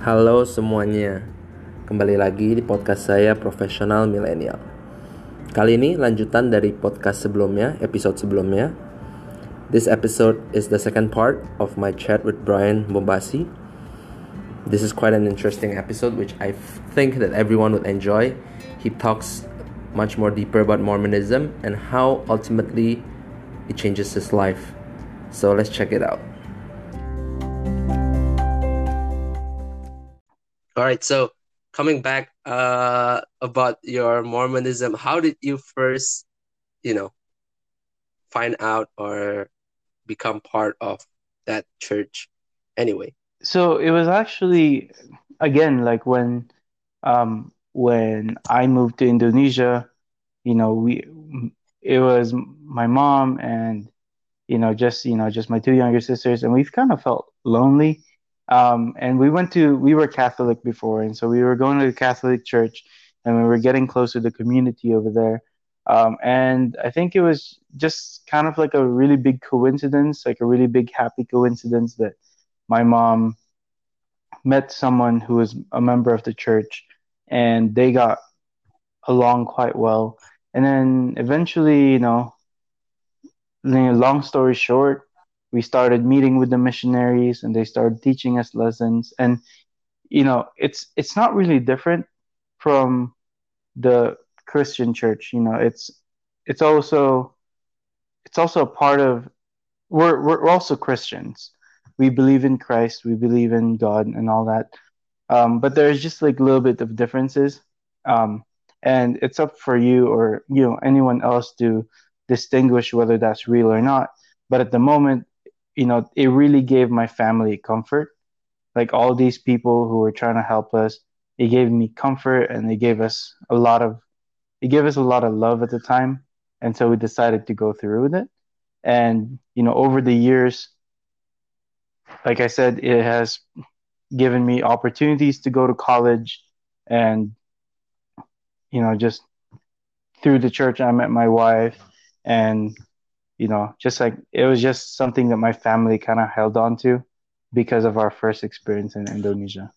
Halo semuanya, kembali lagi di podcast saya Profesional Milenial. Kali ini lanjutan dari podcast sebelumnya, episode sebelumnya. This episode is the second part of my chat with Brian Bombasi. This is quite an interesting episode which I think that everyone would enjoy. He talks much more deeper about Mormonism and how ultimately it changes his life. So let's check it out. All right, so coming back about your Mormonism, how did you first, find out or become part of that church anyway? So it was actually again like when I moved to Indonesia, we it was my mom and just my two younger sisters, and we've kind of felt lonely. And we were Catholic before, and so we were going to the Catholic church, and we were getting close to the community over there. And I think it was just kind of like a really big coincidence, like a really big happy coincidence that my mom met someone who was a member of the church, and they got along quite well. And then eventually, long story short, we started meeting with the missionaries, and they started teaching us lessons. And it's not really different from the Christian church. It's also it's also a part of we're also Christians. We believe in Christ, we believe in God and all that. But there's just like a little bit of differences. Um, and it's up for you or anyone else to distinguish whether that's real or not. But at the moment, it really gave my family comfort. Like all these people who were trying to help us, it gave me comfort, and it gave us a lot of love at the time. And so we decided to go through with it. And over the years, like I said, it has given me opportunities to go to college, and just through the church I met my wife. And just like it was just something that my family kind of held on to because of our first experience in Indonesia.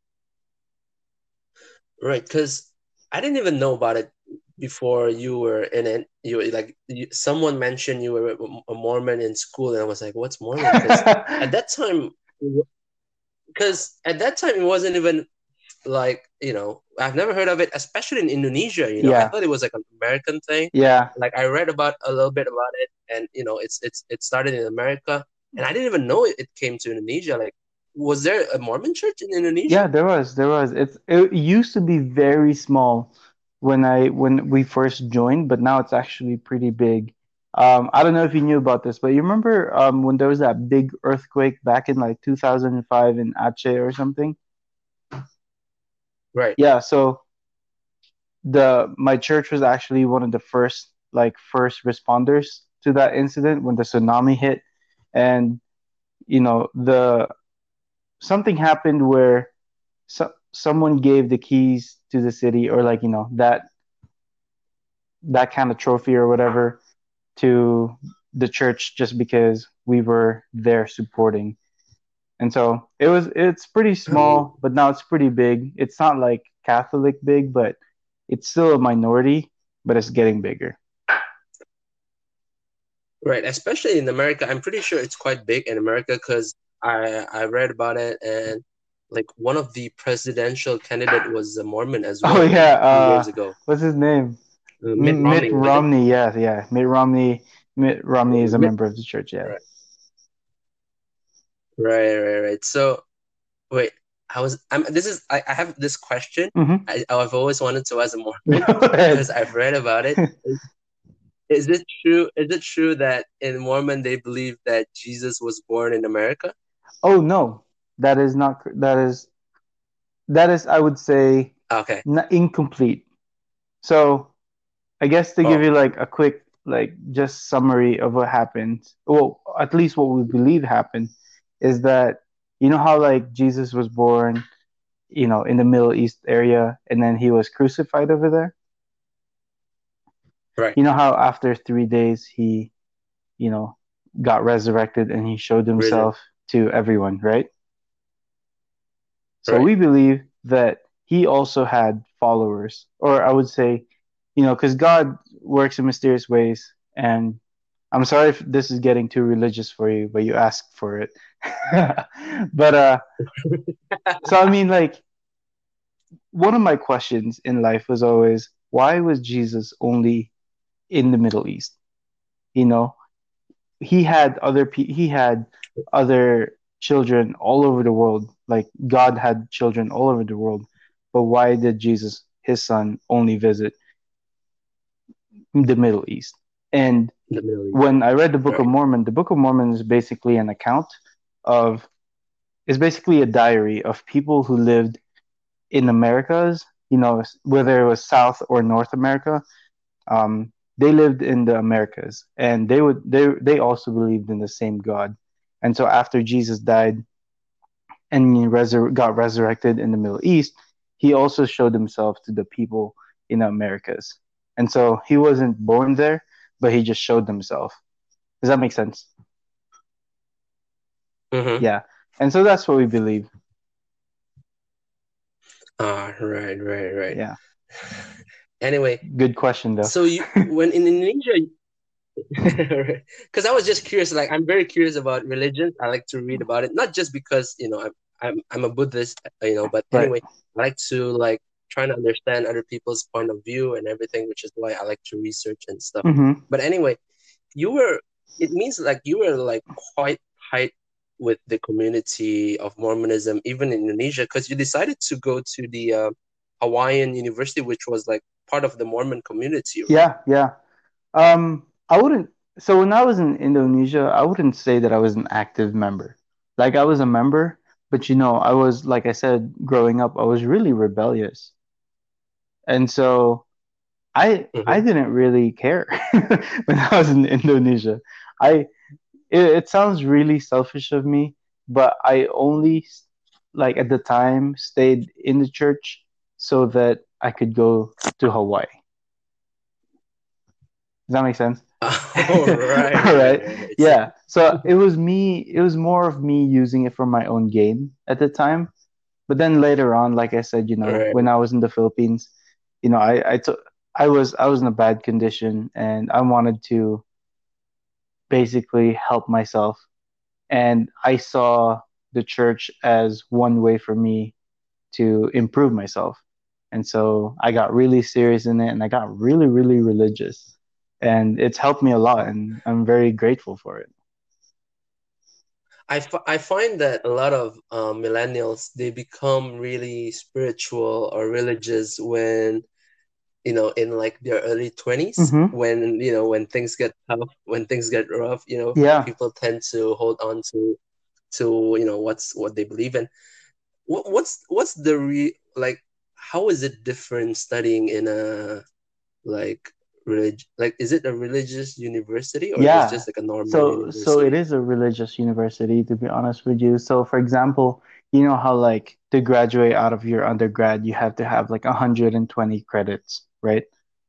Right, because I didn't even know about it before you were in it. Someone mentioned you were a Mormon in school, and I was like, "What's Mormon?" Because at that time, it wasn't even like I've never heard of it, especially in Indonesia. I Yeah, thought it was like an American thing. yeah. Like I read about a little bit about it, and it started in America, and I didn't even know it came to Indonesia. Like, was there a Mormon church in Indonesia? Yeah, there was. It used to be very small when we first joined, but now it's actually pretty big. I don't know if you knew about this, but you remember when there was that big earthquake back in like 2005 in Aceh or something? Right. Yeah, so the my church was actually one of the first responders to that incident when the tsunami hit. And the something happened where someone gave the keys to the city, or like that kind of trophy or whatever, to the church just because we were there supporting. And so it's pretty Oh, small, but now it's pretty big. It's not like Catholic big, but it's still a minority, but it's getting bigger. right. Especially in America, I'm pretty sure it's quite big in America because I read about it, and like one of the presidential candidate was a Mormon as Oh well, like yeah, a few years ago. what's his name? Mitt Mitt Romney, was it? Romney. Yeah, yeah. Mitt Romney is a Mitt. member of the church. Yeah. Right, right. So wait, I have this question. Mm-hmm. I've always wanted to as a Mormon Go ahead. because I've read about it. Is it true? Is it true that in Mormon they believe that Jesus was born in America? Oh no, that is not. That is, I would say, Okay. incomplete. So I guess to give Oh, you like a quick like just summary of what happened, well, at least what we believe happened, is that how like Jesus was born, in the Middle East area, and then he was crucified over there. right. You know how after 3 days he, you know, got resurrected and he showed Really? himself to everyone, right? So Right. we believe that he also had followers, or I would say, because God works in mysterious ways. And I'm sorry if this is getting too religious for you, but you asked for it. But so I mean, like, one of my questions in life was always, why was Jesus only in the Middle East? You know, he had other children all over the world. Like God had children all over the world, but why did Jesus, his son, only visit the Middle East? And The Middle East. when I read the Book of Right. Mormon, the Book of Mormon is basically an account of is basically a diary of people who lived in Americas, whether it was South or North America. They lived in the Americas, and they also believed in the same God. And so after Jesus died and he got resurrected in the Middle East, he also showed himself to the people in the Americas. And so he wasn't born there, but he just showed himself. Does that make sense? Mm-hmm. Yeah. And so that's what we believe. Ah, right, right, right. Yeah. Anyway, Good question though. so you when in Indonesia, because I was just curious. Like, I'm very curious about religions. I like to read about it, not just because I'm a Buddhist, But Right. anyway, I like to like trying to understand other people's point of view and everything, which is why I like to research and stuff. Mm-hmm. But anyway, you were. It means like you were like quite tight with the community of Mormonism, even in Indonesia, because you decided to go to the Hawaiian University, which was like part of the Mormon community, right? Yeah, yeah. I wouldn't. So when I was in Indonesia, I wouldn't say that I was an active member. Like I was a member, but I was like I said, growing up, I was really rebellious, and so I Mm-hmm. didn't really care when I was in Indonesia. I it sounds really selfish of me, but I only like at the time stayed in the church so that I could go to Hawaii. Does that make sense? Oh, right, All right, right. right, right. So, Yeah. So it was more of me using it for my own gain at the time. But then later on, like I said, right. when I was in the Philippines, I took I was in a bad condition and I wanted to basically help myself. And I saw the church as one way for me to improve myself. And so I got really serious in it and I got really, really religious. And it's helped me a lot and I'm very grateful for it. I find that a lot of millennials, they become really spiritual or religious when, in like their early 20s, Mm-hmm. when things get tough, when things get rough, Yeah. people tend to hold on to what they believe in. What's the like, how is it different studying in a like like, is it a religious university or is it Yeah. just like a normal So it university? is a religious university, to be honest with you. So for example, you know how like to graduate out of your undergrad, you have to have like 120 credits, right?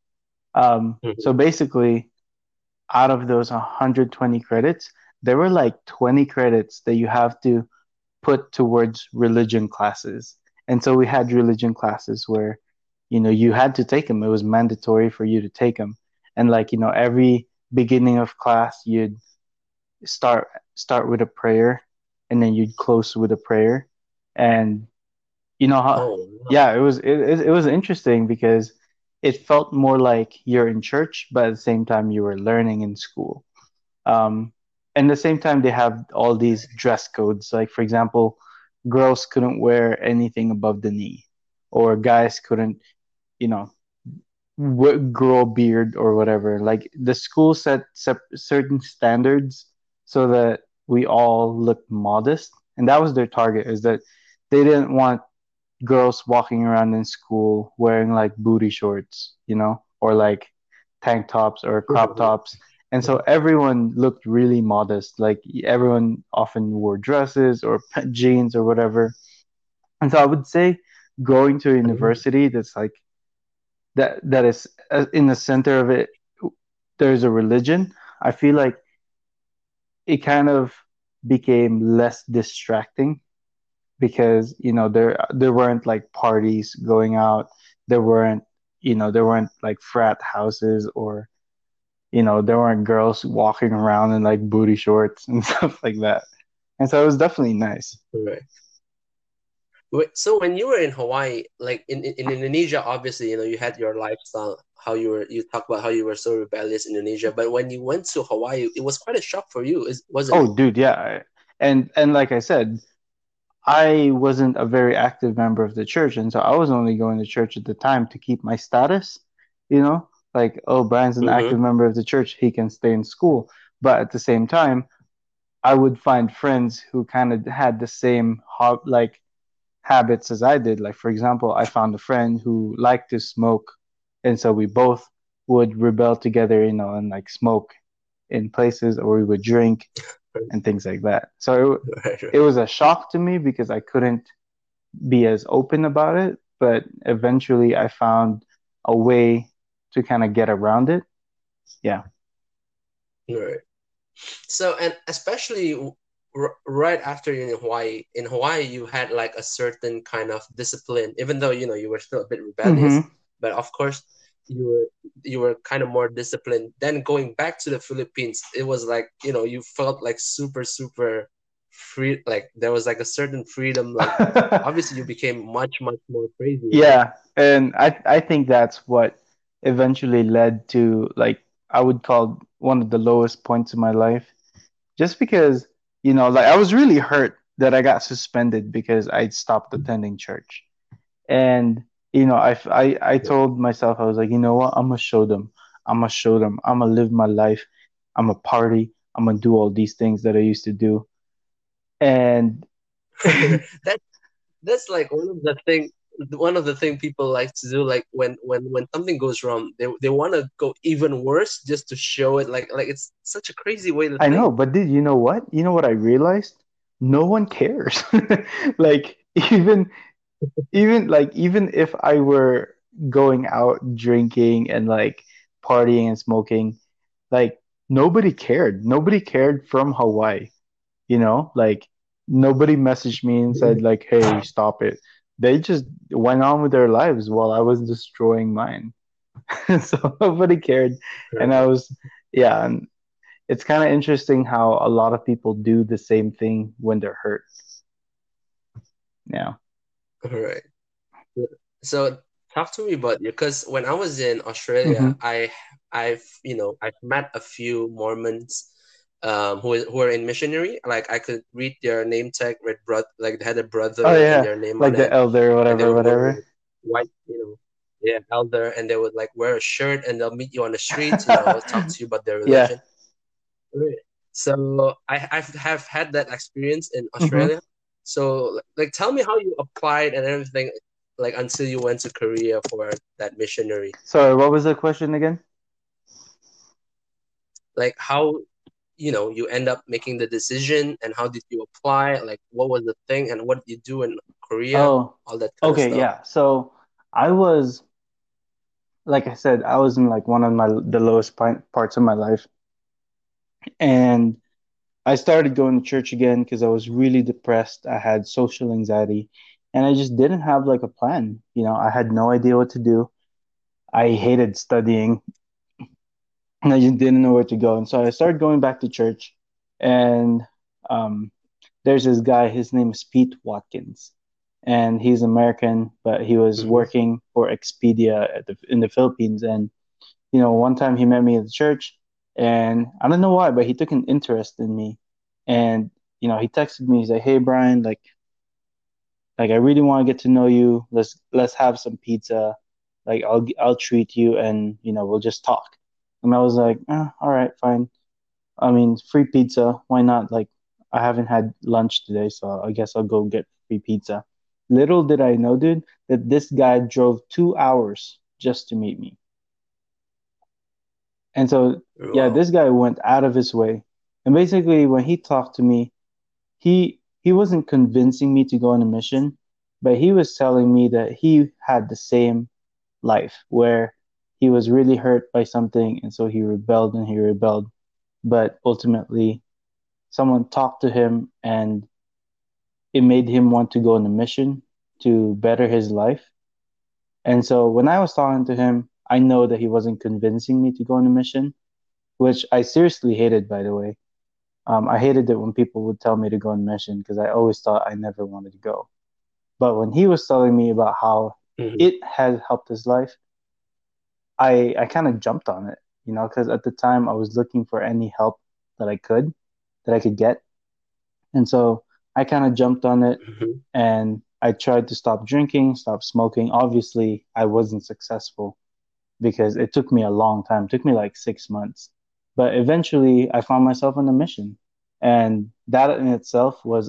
So Mhm. basically, out of those 120 credits, there were like 20 credits that you have to put towards religion classes. And so we had religion classes where, you had to take them. It was mandatory for you to take them. And like, every beginning of class, you'd start start with a prayer and then you'd close with a prayer. And you know how Oh, wow. yeah, it was interesting because it felt more like you're in church, but at the same time you were learning in school. Um, and at the same time, they have all these dress codes. Like, for example, girls couldn't wear anything above the knee, or guys couldn't, you know, grow a beard or whatever. Like, the school set certain standards so that we all looked modest. And that was their target, is that they didn't want girls walking around in school wearing like booty shorts, or like tank tops or crop tops. And so everyone looked really modest. Like everyone often wore dresses or jeans or whatever. And so I would say going to a university that's like that is in the center of it, there's a religion. I feel like it kind of became less distracting because there weren't like parties going out, there weren't there weren't like frat houses, or there weren't girls walking around in like booty shorts and stuff like that. And so it was definitely nice. Right. So when you were in Hawaii, like in Indonesia, obviously, you had your lifestyle, how you talk about how you were so rebellious in Indonesia, but when you went to Hawaii, it was quite a shock for you, wasn't it? Oh, dude, yeah. And like I said, I wasn't a very active member of the church, and so I was only going to church at the time to keep my status, you know, like, oh, Brian's an Mm-hmm. active member of the church, he can stay in school. But at the same time, I would find friends who kind of had the same like habits as I did. Like, for example, I found a friend who liked to smoke, and so we both would rebel together, and like smoke in places, or we would drink and things like that. So Right, it right. was a shock to me because I couldn't be as open about it, but eventually I found a way to kind of get around it. Yeah. Right. So, and especially right after you're in Hawaii, you had like a certain kind of discipline, even though you were still a bit rebellious, Mm-hmm. but of course you were you were kind of more disciplined. Then going back to the Philippines, it was like you felt like super free, like there was like a certain freedom. Like obviously you became much more crazy, right? Yeah, and I think that's what eventually led to, like, I would call one of the lowest points in my life. Just because, like, I was really hurt that I got suspended because I stopped attending church. And I told myself, I was like, you know what? I'm gonna show them. I'm gonna show them. I'm gonna live my life. I'm gonna party. I'm gonna do all these things that I used to do. And that that's like one of the thing people like to do, like when something goes wrong, they want to go even worse just to show it, like it's such a crazy way to I know, think. but dude, you know what? You know what I realized? No one cares. Like, even if I were going out drinking and like partying and smoking, like, nobody cared. Nobody cared from Hawaii, like, nobody messaged me and said like, "Hey, stop it." They just went on with their lives while I was destroying mine. So nobody cared. And I was, yeah, and it's kind of interesting how a lot of people do the same thing when they're hurt. Yeah. All right. So talk to me about you, because when I was in Australia, Hmm. I've met a few Mormons, who are in missionary. Like I could read their name tag, red brother, like they had a Oh brother and yeah, their name like on the it, elder, and they whatever, would wear whatever. like white, yeah, elder, and they would like wear a shirt and they'll meet you on the streets, talk to you about their Yeah. religion. Right. So have had that experience in Hmm. Australia. So like tell me how you applied and everything, like until you went to Korea for that missionary. Sorry, what was the question again? Like how you end up making the decision, and how did you apply? Like what was the thing and what did you do in Korea? Oh, All that kind of okay, stuff. yeah. So I was, like I said, I was in like one of the lowest parts of my life, and I started going to church again because I was really depressed. I had social anxiety, and I just didn't have like a plan. I had no idea what to do. I hated studying, and I just didn't know where to go. And so I started going back to church, and um, there's this guy. His name is Pete Watkins, and he's American, but he was Mm-hmm. working for Expedia in the Philippines. And one time he met me at the church, and I don't know why, but he took an interest in me. And he texted me. He's like, "Hey, Brian, like I really want to get to know you. Let's have some pizza. Like I'll treat you, and we'll just talk." And I was like, "All right, fine. I mean, free pizza. Why not? Like, I haven't had lunch today, so I guess I'll go get free pizza." Little did I know, dude, that this guy drove 2 hours just to meet me. And so, yeah, Wow. this guy went out of his way. And basically, when he talked to me, he wasn't convincing me to go on a mission, but he was telling me that he had the same life where he was really hurt by something, and so he rebelled and he rebelled. But ultimately, someone talked to him, and it made him want to go on a mission to better his life. And so when I was talking to him, I know that he wasn't convincing me to go on a mission, which I seriously hated, by the way. I hated it when people would tell me to go on a mission because I always thought I never wanted to go. But when he was telling me about how Mhm. it had helped his life, I kind of jumped on it, because at the time I was looking for any help that I could get. And so I kind of jumped on it Mhm. and I tried to stop drinking, stop smoking. Obviously, I wasn't successful because it took me a long time. It took me like 6 months. But eventually, I found myself on a mission. And that in itself was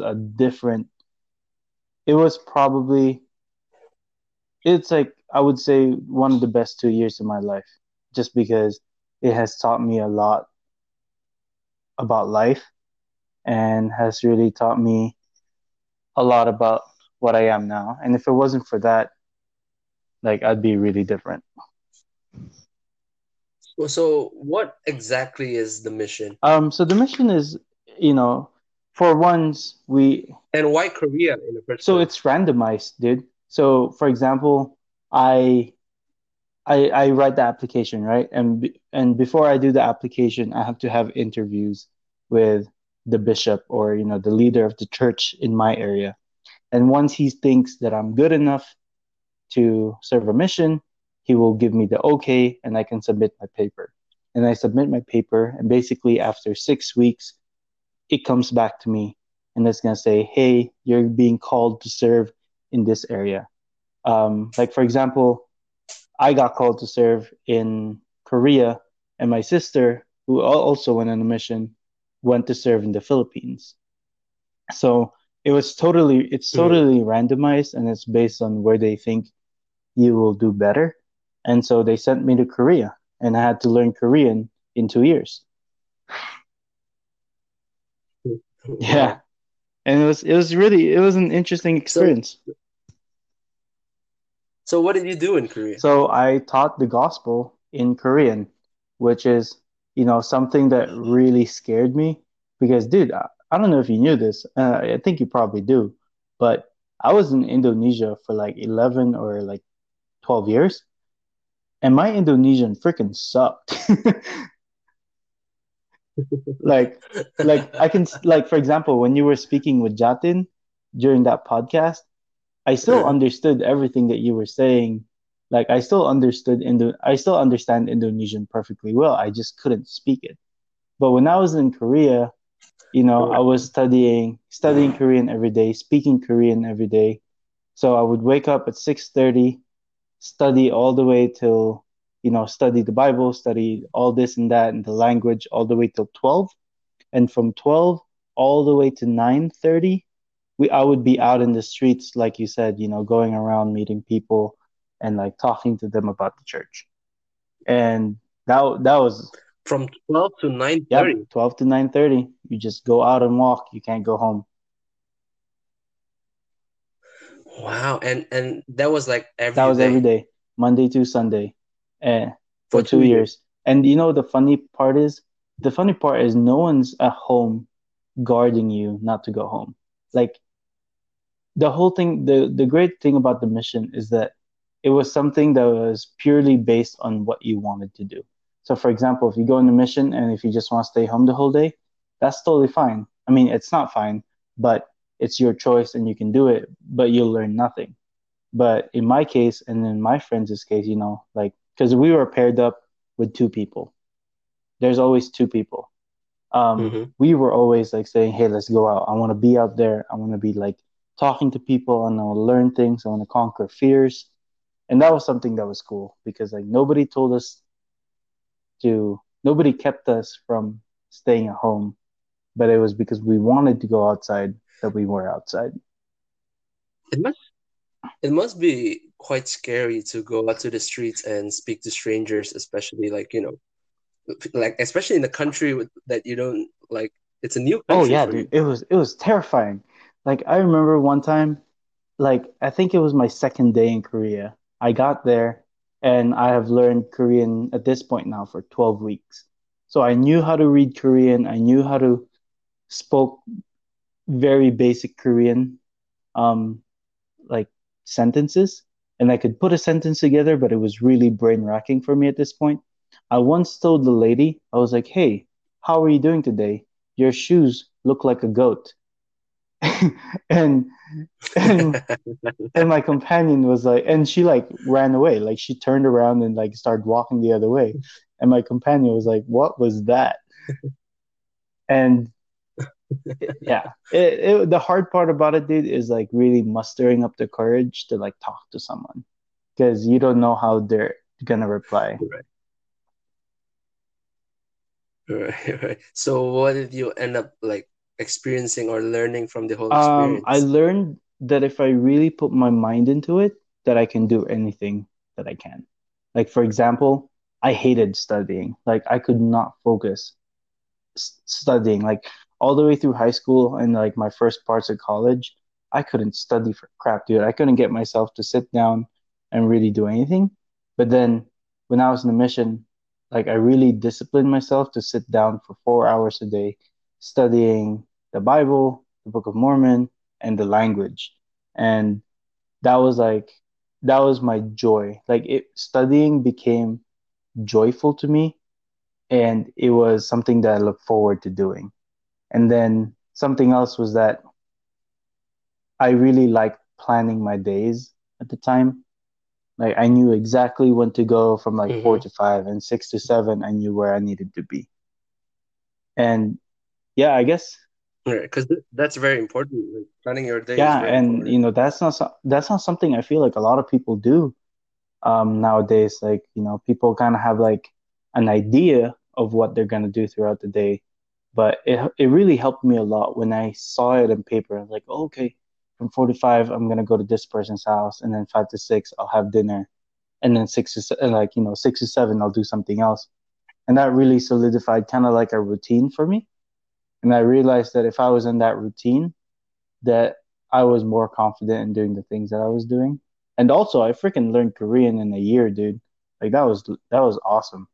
it was probably, it's like, I would say one of the best 2 years of my life, just because it has taught me a lot about life and has really taught me a lot about what I am now. And if it wasn't for that, like I'd be really different. So what exactly is the mission? So the mission is, you know, for once And why Korea in the first so place? it's randomized, dude. So for example, I I write the application, right? And before I do the application, I have to have interviews with the bishop or the leader of the church in my area. And once he thinks that I'm good enough to serve a mission, he will give me the okay and I can submit my paper. And I submit my paper, and basically after 6 weeks, it comes back to me and it's going to say, hey, you're being called to serve in this area. Like, for example, I got called to serve in Korea, and my sister, who also went on a mission, went to serve in the Philippines. So it's Mhm. totally randomized and it's based on where they think you will do better. And so they sent me to Korea and I had to learn Korean in 2 years. Yeah. Wow. And it was an interesting So experience. so what did you do in Korea? So I taught the gospel in Korean, which is, something that really scared me because, dude, I don't know if you knew this. I think you probably do, but I was in Indonesia for like 11 or like 12 years, and my Indonesian freaking sucked. like I can, like, for example, when you were speaking with Jatin during that podcast, I still Mhm. understood everything that you were saying. Like I still understand Indonesian perfectly well. I just couldn't speak it. But when I was in Korea, I was studying Korean every day, speaking Korean every day. So I would wake up at 6:30, study all the way till, study the Bible, study all this and that and the language all the way till 12. And from 12 all the way to 9:30, I would be out in the streets, like you said, going around meeting people and like talking to them about the church. And that was, From 12 to yep, 9:30. 12 to 9:30. You just go out and walk. You can't go home. Wow. And that was like That every was every day day, Monday to Sunday, for for two 2 years. years. And the funny part is no one's at home guarding you not to go home. Like the whole thing, the great thing about the mission is that it was something that was purely based on what you wanted to do. So for example, if you go on a mission and if you just want to stay home the whole day, that's totally fine. I mean, it's not fine, but it's your choice and you can do it, but you'll learn nothing. But in my case and in my friends' case, like, because we were paired up with two people, there's always two people. Hmm. We were always like saying, "Hey, let's go out. I want to be out there. I want to be like talking to people, and I want to learn things. I want to conquer fears." And that was something that was cool because like nobody kept us from staying at home, but it was because we wanted to go outside that we were outside. It must it must be quite scary to go out to the streets and speak to strangers, especially like, like especially in a country that you don't like. It's a new Oh country yeah, for dude, you. it was terrifying. Like I remember one time, like I think it was my second day in Korea. I got there and I have learned Korean at this point now for 12 weeks. So I knew how to read Korean, I knew how to spoke very basic Korean. um like sentences, and I could put a sentence together, but it was really brain racking for me at this point. I once told the lady, I was like, "Hey, how are you doing today? Your shoes look like a goat." and and and my companion was like, and she like ran away, like she turned around and like started walking the other way. And my companion was like, "What was that?" And yeah, the hard part about it, dude, is like really mustering up the courage to like talk to someone because you don't know how they're gonna reply. Right. Right, right. So what did you end up like experiencing or learning from the whole I experience? learned that if I really put my mind into it, that I can do anything that I can. Like for example, I hated studying. Like I could not focus studying. Like all the way through high school and like my first parts of college, I couldn't study for crap, dude. I couldn't get myself to sit down and really do anything. But then when I was in the mission, like I really disciplined myself to sit down for 4 hours a day studying the Bible, the Book of Mormon, and the language. And that was like that was my joy. Like it studying became joyful to me, and it was something that I look forward to doing. And then something else was that I really liked planning my days at the time. Like I knew exactly when to go from like four Mm-hmm. to five and 6 to 7. I knew where I needed to be. And yeah, I guess Right, because that's very important. Like, planning your day is yeah, very and important. that's not something I feel like a lot of people do nowadays. Like people kind of have like an idea of what they're gonna do throughout the day, but it really helped me a lot when I saw it in paper. I was like, oh, okay, from 4 to 5, I'm gonna go to this person's house, and then 5 to 6, I'll have dinner, and then 6 to 7, I'll do something else, and that really solidified kind of like a routine for me. And I realized that if I was in that routine, that I was more confident in doing the things that I was doing. And also, I freaking learned Korean in a year, dude. Like that was awesome.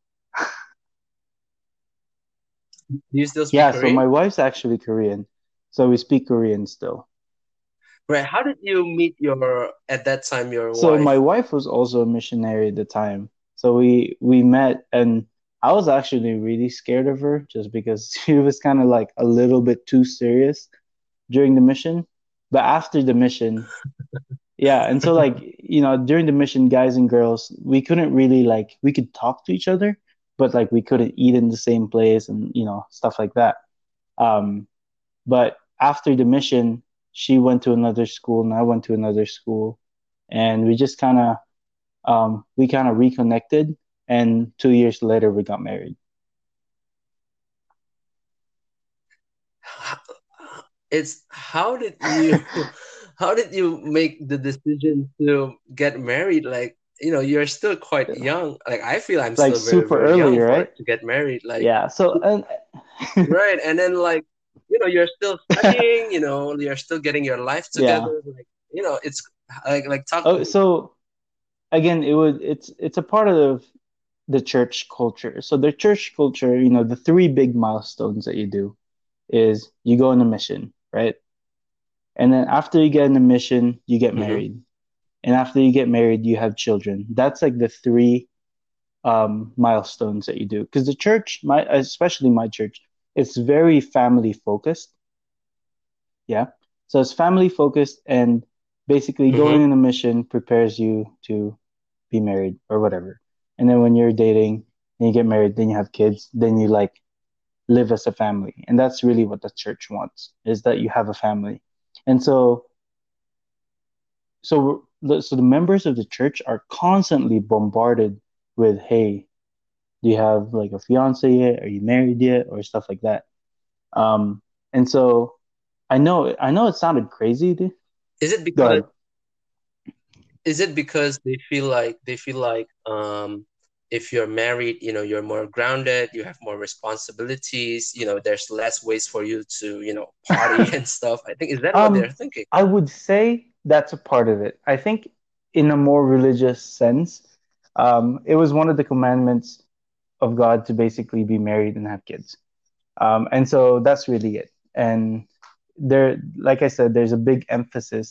Do you still speak Yeah, so my Korean? wife's actually Korean, so we speak Korean still. Right. How did you meet your at that time your So my wife? wife was also a missionary at the time. So we met, and I was actually really scared of her just because she was kind of like a little bit too serious during the mission. But after the mission, yeah, and so like, during the mission, guys and girls, we couldn't really like we could talk to each other, but like we couldn't eat in the same place and stuff like that. Um, but after the mission, she went to another school and I went to another school, and we kind of reconnected, and 2 years later we got married. It's how did you how did you make the decision to get married? Like, you're still quite young. Like I feel I'm Like still very, super very early, young for right? to get married. Like, Yeah. So and right. And then like, you're still studying, you're still getting your life yeah. together. Like, it's like talk to Oh, me. so again, it's a part of the church culture. So the church culture, the three big milestones that you do is you go on a mission, right? And then after you get on a mission, you get Mm-hmm. married. And after you get married, you have children. That's like the three milestones that you do. Because the church, especially my church, it's very family focused. Yeah. So it's family focused, and basically going Mm-hmm. on a mission prepares you to be married or whatever. And then when you're dating and you get married, then you have kids, then you like live as a family. And that's really what the church wants, is that you have a family. And so the members of the church are constantly bombarded with, hey, do you have like a fiance yet? Are you married yet? Or stuff like that. And so I know it sounded crazy, dude. Is it Go because ahead. they feel like if you're married, you're more grounded, you have more responsibilities, there's less ways for you to, party and stuff. I think, is that what they're Um, thinking? I would say that's a part of it. I think in a more religious sense, it was one of the commandments of God to basically be married and have kids. And so that's really it. And there, like I said, there's a big emphasis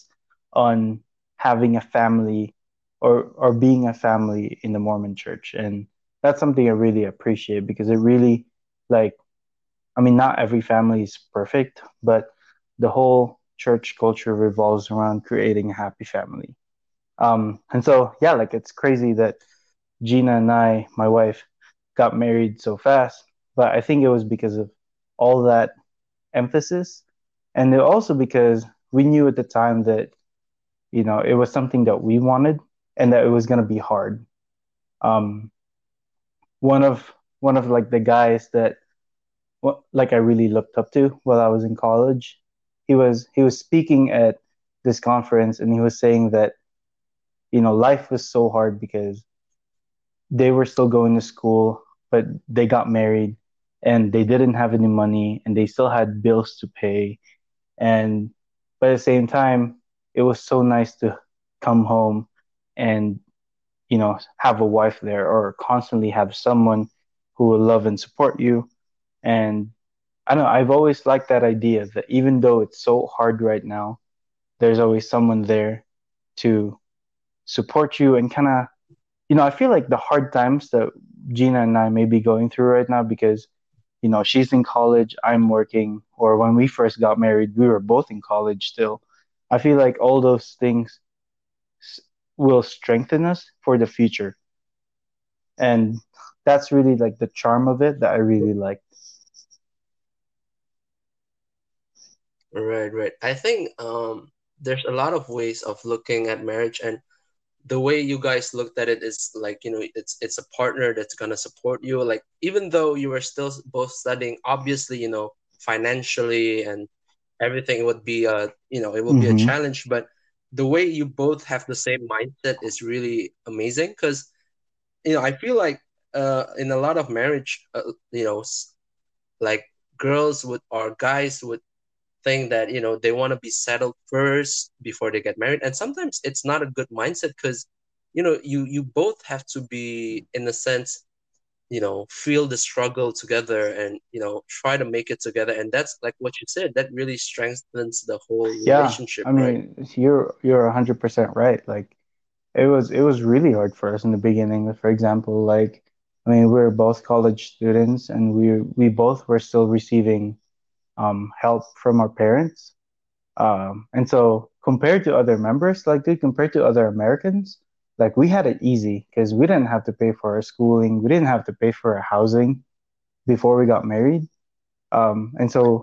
on having a family or being a family in the Mormon church. And that's something I really appreciate because it really, like, I mean, not every family is perfect, but the whole church culture revolves around creating a happy family. And so, yeah, like it's crazy that Gina and I, my wife, got married so fast, but I think it was because of all that emphasis. And also because we knew at the time that, it was something that we wanted and that it was going to be hard. Um, one of like the guys that like I really looked up to while I was in college, he was speaking at this conference and he was saying that, life was so hard because they were still going to school, but they got married and they didn't have any money and they still had bills to pay. And but at the same time, it was so nice to come home and, have a wife there or constantly have someone who will love and support you. And I don't know, I've always liked that idea that even though it's so hard right now, there's always someone there to support you and kind of, I feel like the hard times that Gina and I may be going through right now because, she's in college, I'm working, or when we first got married, we were both in college still. I feel like all those things s- will strengthen us for the future. And that's really like the charm of it that I really like. Right, right. I think there's a lot of ways of looking at marriage, and the way you guys looked at it is like, it's a partner that's gonna support you. Like, even though you were still both studying, obviously, financially and everything would be it will be a Mm-hmm. challenge, but the way you both have the same mindset is really amazing. Because I feel like in a lot of marriage, like girls would or guys would think that they want to be settled first before they get married, and sometimes it's not a good mindset. Because you both have to be, in a sense, feel the struggle together, and try to make it together. And that's like what you said, that really strengthens the whole Yeah, relationship, I right? mean, you're 100% right. Like it was really hard for us in the beginning. For example, like I mean, we were both college students and we both were still receiving help from our parents. And so compared to other members, like dude, compared to other Americans, like we had it easy because we didn't have to pay for our schooling, we didn't have to pay for our housing before we got married. And so,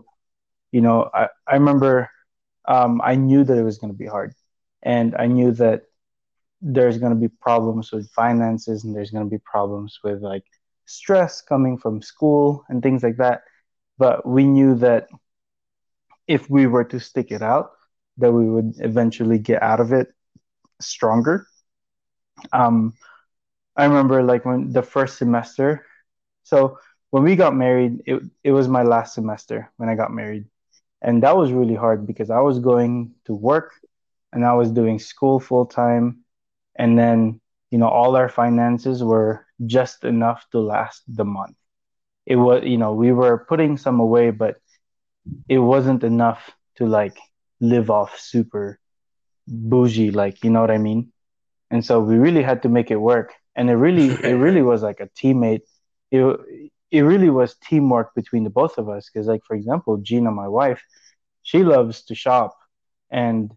I remember I knew that it was going to be hard. And I knew that there's going to be problems with finances and there's going to be problems with like stress coming from school and things like that. But we knew that if we were to stick it out, that we would eventually get out of it stronger. Um, I remember like when the first semester, so when we got married, it was my last semester when I got married. And that was really hard because I was going to work and I was doing school full time. And then, all our finances were just enough to last the month. It was, we were putting some away, but it wasn't enough to like live off super bougie, like, you know what I mean? And so we really had to make it work. And it really Right, was like a teammate. It really was teamwork between the both of us. Cause like, for example, Gina, my wife, she loves to shop and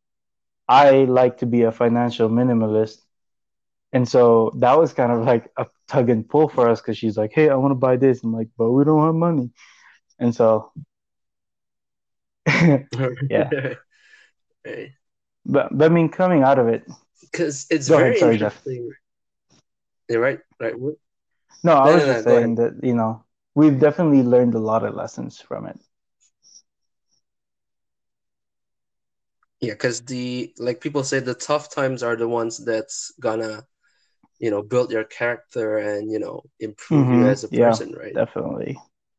I like to be a financial minimalist. And so that was kind of like a tug and pull for us because she's like, "Hey, I want to buy this." I'm like, "But we don't have money." And so, yeah. right. But I mean, coming out of it, Because it's go ahead. very Sorry, Jeff. interesting. Yeah, right, right. No, I No, no, was no, just go ahead. saying that we've definitely learned a lot of lessons from it. Yeah, because like people say, the tough times are the ones that's gonna build your character and improve you Mm-hmm. as a Yeah, person, right? definitely.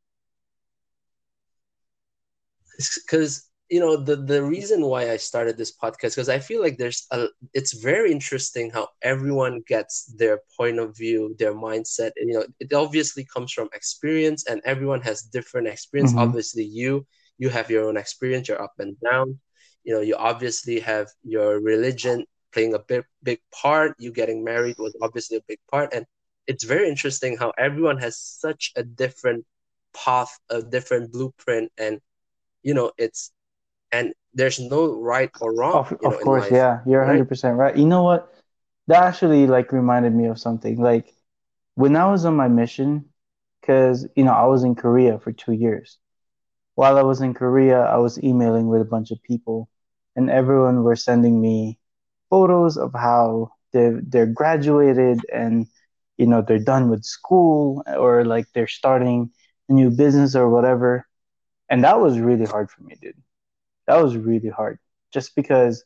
Because the reason why I started this podcast, because I feel like it's very interesting how everyone gets their point of view, their mindset, and it obviously comes from experience, and everyone has different experience. Mm-hmm. Obviously, you have your own experience, your up and down. you obviously have your religion playing a big part. You getting married was obviously a big part, and it's very interesting how everyone has such a different path, a different blueprint, and it's and there's no right or wrong, Of in course, life, yeah, you're right? 100% right. You know what? That actually like reminded me of something. Like when I was on my mission, because I was in Korea for 2 years. While I was in Korea, I was emailing with a bunch of people, and everyone were sending me photos of how they're graduated and they're done with school or like they're starting a new business or whatever. And that was really hard for me, dude. That was really hard. Just because,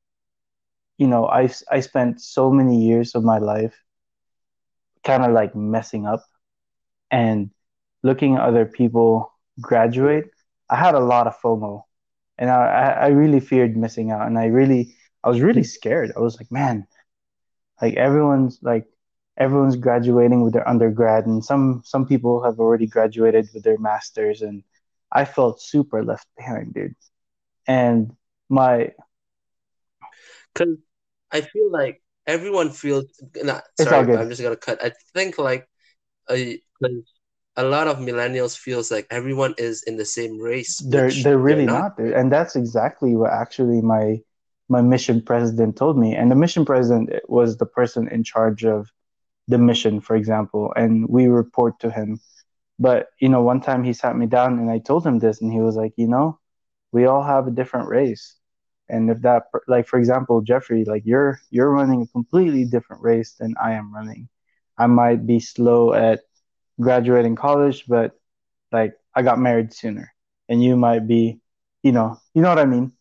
I spent so many years of my life kind of like messing up and looking at other people graduate. I had a lot of FOMO, and I really feared missing out, and I was really scared. I was like, man, like everyone's graduating with their undergrad, and some people have already graduated with their masters, and I felt super left behind, dude. And my Because I feel like everyone feels. Nah, It's all sorry, good. I'm just gonna cut. I think like like a lot of millennials feels like everyone is in the same race, which They're they're really not, not, dude. right? And that's exactly what actually my mission president told me. And the mission president was the person in charge of the mission, for example, and we report to him. But one time he sat me down and I told him this, and he was like, we all have a different race. And if like for example, Jeffrey, like you're running a completely different race than I am running. I might be slow at graduating college, but like I got married sooner, and you might be, you know what I mean.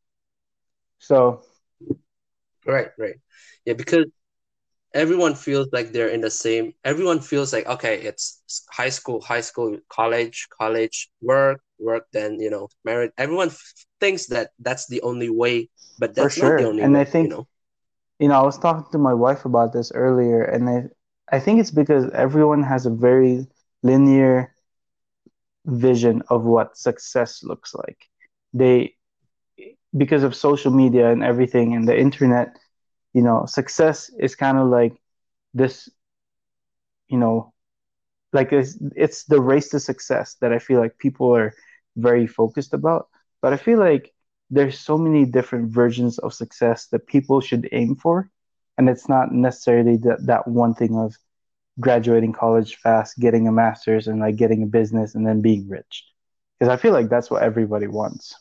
So Right, right. Yeah, because everyone feels like they're in the same. Everyone feels like okay, it's high school, college, work, then married. Everyone thinks that that's the only way, but for that's not the sure, only and I way, think I was talking to my wife about this earlier, and I think it's because everyone has a very linear vision of what success looks like. They Because of social media and everything and the internet, success is kind of like this, you know, like it's the race to success that I feel like people are very focused about. But I feel like there's so many different versions of success that people should aim for, and it's not necessarily that one thing of graduating college fast, getting a master's, and like getting a business and then being rich. Because I feel like that's what everybody wants.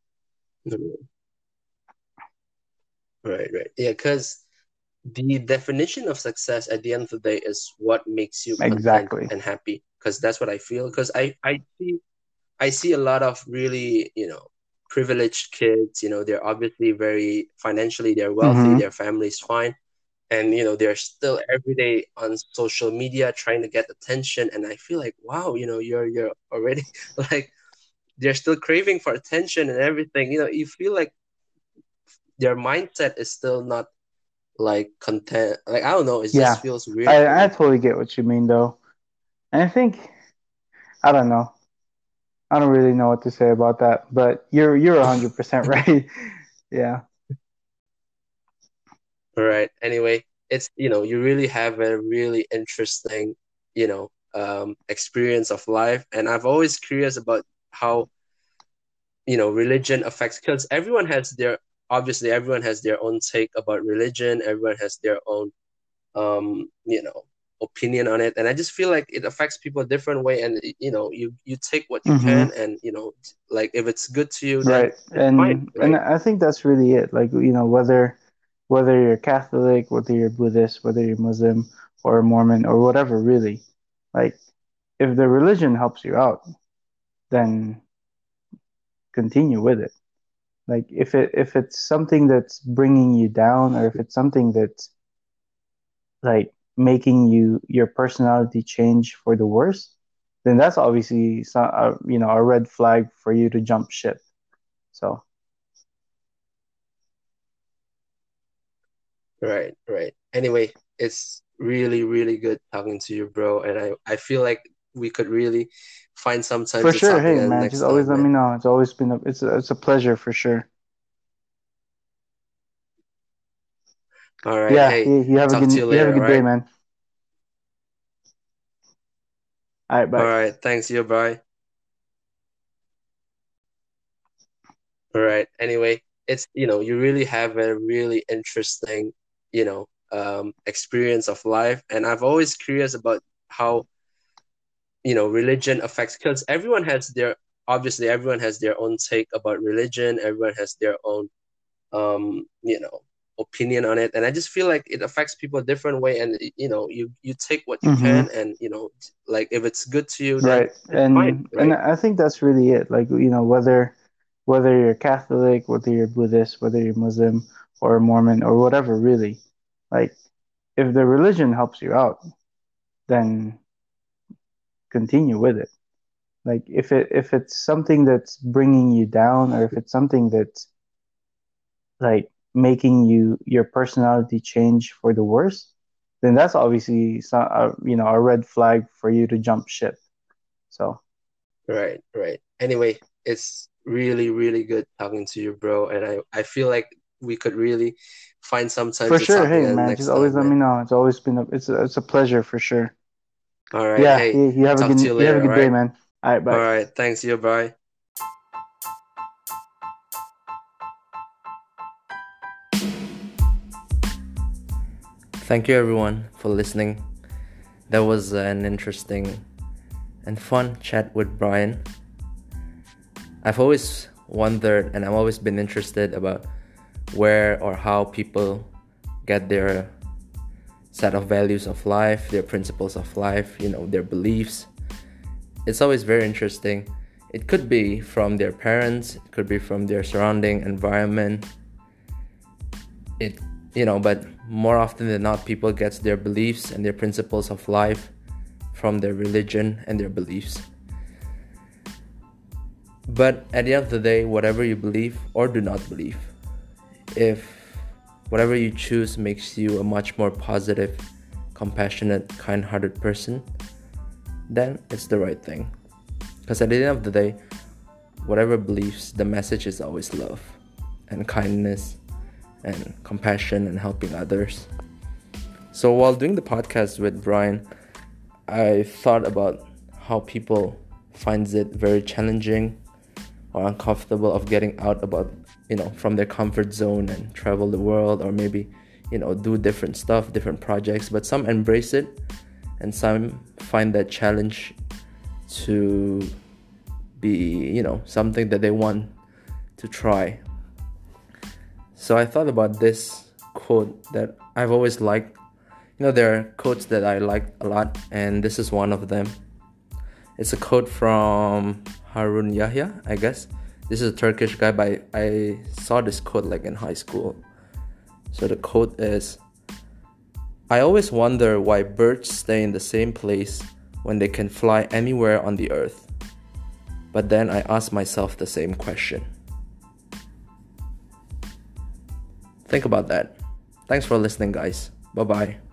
right, right. Yeah, because the definition of success at the end of the day is what makes you content Exactly. and happy. Because that's what I feel. Because I see a lot of really privileged kids. They're obviously very financially they're wealthy, Mm-hmm. their family's fine, and they're still every day on social media trying to get attention. And I feel like wow, you're already like they're still craving for attention and everything. You feel like their mindset is still not like content. Like I don't know, it just Yeah, feels weird for I me. totally get what you mean though, and I think I don't know. I don't really know what to say about that, but you're 100% right. Yeah, All right. Anyway, it's you really have a really interesting experience of life, and I've always curious about how religion affects because everyone has their own take about religion. Everyone has their own um you know opinion on it, and I just feel like it affects people a different way. And you take what you mm-hmm. can, and like if it's good to you, then Right. it's fine, And right? I think that's really it. Like, whether you're Catholic, whether you're Buddhist, whether you're Muslim or Mormon or whatever, really, like if the religion helps you out, then continue with it. Like if it's something that's bringing you down, or if it's something that's like making your personality change for the worse, then that's obviously a red flag for you to jump ship. So Right, right. Anyway, it's really, really good talking to you, bro. And I feel like we could really find some time for to sure, talk hey again man, just next always time, let me man. know. It's always been it's a pleasure for sure. All right. Yeah, Hey, you have a talk to good you later. All day, right. man. All right, All bye. right. Thanks. You. Bye. All right. Anyway, it's you really have a really interesting experience of life, and I've always curious about how religion affects, because everyone has their own take about religion. Everyone has their own um you know opinion on it, and I just feel like it affects people a different way, and you take what you Mm-hmm. can, and like if it's good to you, then Right. it's fine, And right? I think that's really it. Like, whether you're Catholic, whether you're Buddhist, whether you're Muslim or Mormon or whatever, really. Like, if the religion helps you out, then continue with it. Like, if it's something that's bringing you down, or if it's something that's like making your personality change for the worse, then that's obviously a red flag for you to jump ship. So Right, right. Anyway, it's really, really good talking to you, bro. And I feel like we could really find some time for to sure, talk hey again man, just next always time, let me man. know. It's always been it's a pleasure for sure. All right. Yeah, Hey, you have a talk to you later. All good day, right. man. All right, All bye. right. Thanks. You. Bye. Thank you, everyone, for listening. That was an interesting and fun chat with Brian. I've always wondered, and I've always been interested about where or how people get their set of values of life, their principles of life, their beliefs. It's always very interesting. It could be from their parents, it could be from their surrounding environment. But more often than not, people get their beliefs and their principles of life from their religion and their beliefs. But at the end of the day, whatever you believe or do not believe, if whatever you choose makes you a much more positive, compassionate, kind-hearted person, then it's the right thing. Because at the end of the day, whatever beliefs, the message is always love and kindness and compassion and helping others. So while doing the podcast with Brian, I thought about how people finds it very challenging or uncomfortable of getting out from their comfort zone and travel the world, or maybe do different stuff, different projects. But some embrace it, and some find that challenge to be something that they want to try. So I thought about this quote that I've always liked. There are quotes that I like a lot, and this is one of them. It's a quote from Harun Yahya, I guess. This is a Turkish guy, but I saw this quote like in high school. So the quote is, "I always wonder why birds stay in the same place when they can fly anywhere on the earth. But then I ask myself the same question." Think about that. Thanks for listening, guys. Bye-bye.